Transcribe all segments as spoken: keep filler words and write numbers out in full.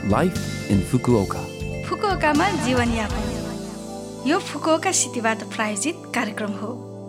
Life in Fukuoka. फुकुओकामा जीवनयापन यो Fukuoka सिटीबाट प्रायोजित कार्यक्रम हो।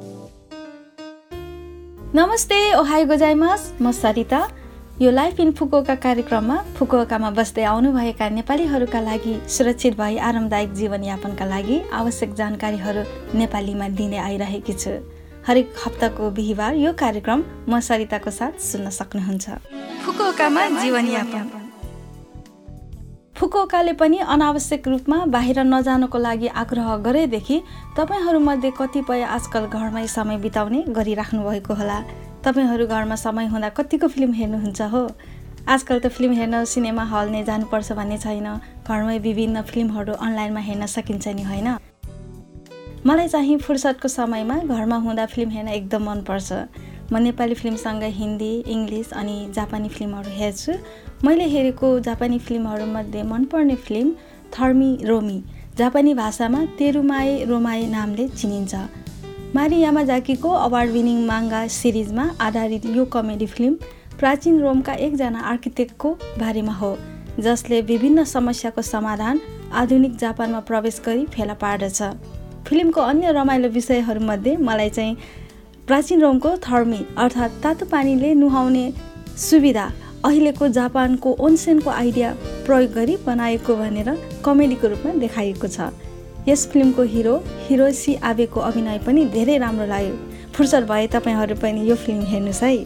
नमस्ते, ओहाई गोजाइमास, म सरिता। यो लाइफ इन फुकुओका कार्यक्रममा फुकुओकामा बस्दै आउनुभएका नेपालीहरूका लागि सुरक्षित भई आरामदायक जीवनयापनका लागि आवश्यक जानकारीहरू नेपालीमा दिँदै आइरहेकी छु। हरेक हप्ताको बिहिबार यो कार्यक्रम म सरिताको साथ सुन्न सक्नुहुन्छ। फुकुओकामा जीवनयापन। फुकुओकाले पनि अनावश्यक रूपमा बाहिर नजानको लागि आग्रह गरेदेखि तपाईहरूमध्ये कतिपय आजकल घरमै समय बिताउने गरिराख्नु भएको होला। तपाईहरू घरमा समय हुँदा कतिको फिल्म हेर्नुहुन्छ हो? आजकल त फिल्म हेर्न सिनेमा हल नै जानुपर्छ भन्ने छैन। घरमै विभिन्न फिल्महरू अनलाइनमा हेर्न सकिन्छ नि, होइन? मलाई चाहिँ फुर्सदको समयमा घरमा हुँदा फिल्म हेर्न एकदम मनपर्छ। म नेपाली फिल्मसँगै हिन्दी, इङ्ग्लिस अनि जापानी फिल्महरू हेर्छु। मैले हेरेको जापानी फिल्महरूमध्ये मनपर्ने फिल्म थर्मी रोमी, जापानी भाषामा तेरुमाए रोमाए नामले चिनिन्छ। मारी यामाजाकीको अवार्ड विनिङ माङ्गा सिरिजमा आधारित यो कमेडी फिल्म प्राचीन रोमका एकजना आर्किटेक्टको बारेमा हो, जसले विभिन्न समस्याको समाधान आधुनिक जापानमा प्रवेश गरी फेला पार्दछ। फिल्मको अन्य रमाइलो विषयहरूमध्ये मलाई चाहिँ प्राचीन रोमको थर्मी अर्थात् तातो पानीले नुहाउने सुविधा अहिलेको जापानको ओन्सेनको आइडिया प्रयोग गरी बनाएको भनेर कमेडीको रूपमा देखाइएको छ। यस फिल्मको हिरो हिरोसी आबेको अभिनय पनि धेरै राम्रो लाग्यो। फुर्सद भए तपाईहरू पनि यो फिल्म हेर्नुहोस् है।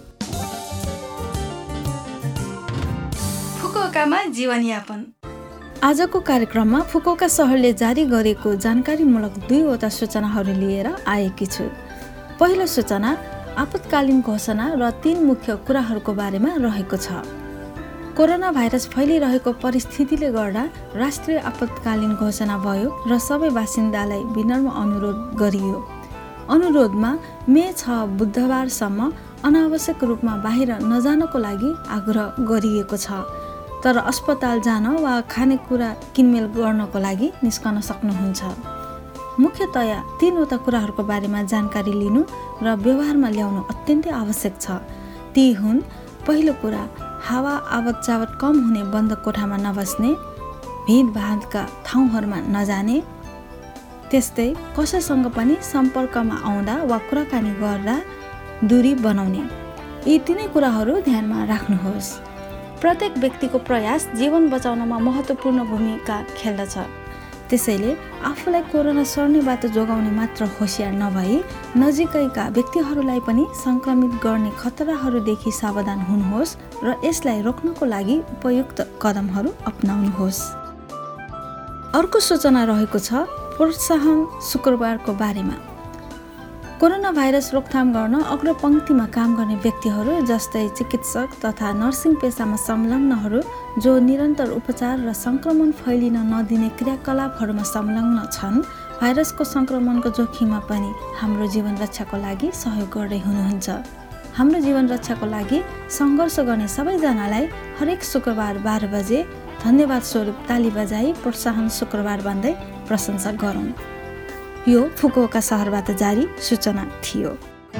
फुकुओकामा जीवनयापन। आजको कार्यक्रममा फुकुओका सहरले जारी गरेको जानकारीमूलक दुईवटा सूचनाहरू लिएर आएकी छु। पहिलो सूचना आपतकालीन घोषणा र तीन मुख्य कुराहरूको बारेमा रहेको छ। कोरोना भाइरस फैलिरहेको परिस्थितिले गर्दा राष्ट्रिय आपतकालीन घोषणा भयो र सबै बासिन्दालाई विनम्र अनुरोध गरियो। अनुरोधमा मे छ बुधबारसम्म अनावश्यक रूपमा बाहिर नजानको लागि आग्रह गरिएको छ, तर अस्पताल जान वा खानेकुरा किनमेल गर्नको लागि निस्कन सक्नुहुन्छ। मुख्यतया तीनवटा कुराहरूको बारेमा जानकारी लिनु र व्यवहारमा ल्याउनु अत्यन्तै आवश्यक छ। ती हुन्, पहिलो कुरा हावा आवत जावत कम हुने बन्द कोठामा नबस्ने, भिडभाडका ठाउँहरूमा नजाने, त्यस्तै कसैसँग पनि सम्पर्कमा आउँदा वा कुराकानी गर्दा दूरी बनाउने। यी तिनै कुराहरू ध्यानमा राख्नुहोस्। प्रत्येक व्यक्तिको प्रयास जीवन बचाउनमा महत्त्वपूर्ण भूमिका खेल्दछ। त्यसैले आफूलाई कोरोना सर्नेबाट जोगाउने मात्र होसियार नभई नजिकैका व्यक्तिहरूलाई पनि सङ्क्रमित गर्ने खतराहरूदेखि सावधान हुनुहोस् र यसलाई रोक्नको लागि उपयुक्त कदमहरू अपनाउनुहोस्। अर्को सूचना रहेको छ प्रोत्साहन शुक्रबारको बारेमा। कोरोना भाइरस रोकथाम गर्न अग्रपङ्क्तिमा काम गर्ने व्यक्तिहरू जस्तै चिकित्सक तथा नर्सिङ पेसामा संलग्नहरू जो निरन्तर उपचार र सङ्क्रमण फैलिन नदिने क्रियाकलापहरूमा संलग्न छन्, भाइरसको सङ्क्रमणको जोखिममा पनि हाम्रो जीवन रक्षाको लागि सहयोग गर्दै हुनुहुन्छ। हाम्रो जीवन रक्षाको लागि सङ्घर्ष गर्ने सबैजनालाई हरेक शुक्रबार बाह्र बजे धन्यवाद स्वरूप ताली बजाई प्रोत्साहन शुक्रबार भन्दै प्रशंसा गरौँ। यो फुकुओका सहरबाट जारी सूचना थियो।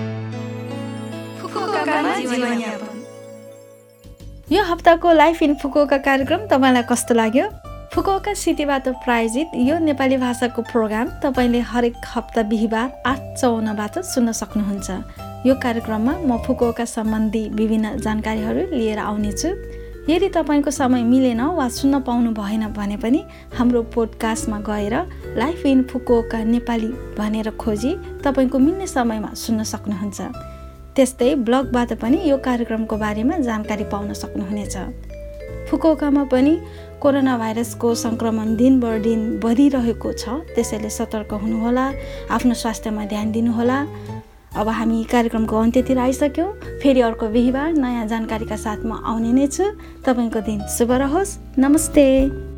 यो हप्ताको लाइफ इन फुकुओका कार्यक्रम तपाईँलाई कस्तो लाग्यो? फुकुओका सिटीबाट प्रायोजित यो नेपाली भाषाको प्रोग्राम तपाईँले हरेक हप्ता बिहिबार आठ चौवन्नबाट सुन्न सक्नुहुन्छ। यो कार्यक्रममा म फुकुओका सम्बन्धी विभिन्न जानकारीहरू लिएर आउनेछु। यदि तपाईँको समय मिलेन वा सुन्न पाउनु भएन भने पनि हाम्रो पोडकास्टमा गएर लाइफ इन फुकुओका नेपाली भनेर खोजी तपाईँको मिल्ने समयमा सुन्न सक्नुहुन्छ। त्यस्तै ब्लगबाट पनि यो कार्यक्रमको बारेमा जानकारी पाउन सक्नुहुनेछ। फुकुओकामा पनि कोरोना भाइरसको सङ्क्रमण दिन बर दिन बढिरहेको छ, त्यसैले सतर्क हुनुहोला, आफ्नो स्वास्थ्यमा ध्यान दिनुहोला। अब हामी कार्यक्रमको अन्त्यतिर आइसक्यौँ। फेरि अर्को बिहिबार नयाँ जानकारीका साथ म आउने नै छु। तपाईँको दिन शुभ रहोस्। नमस्ते।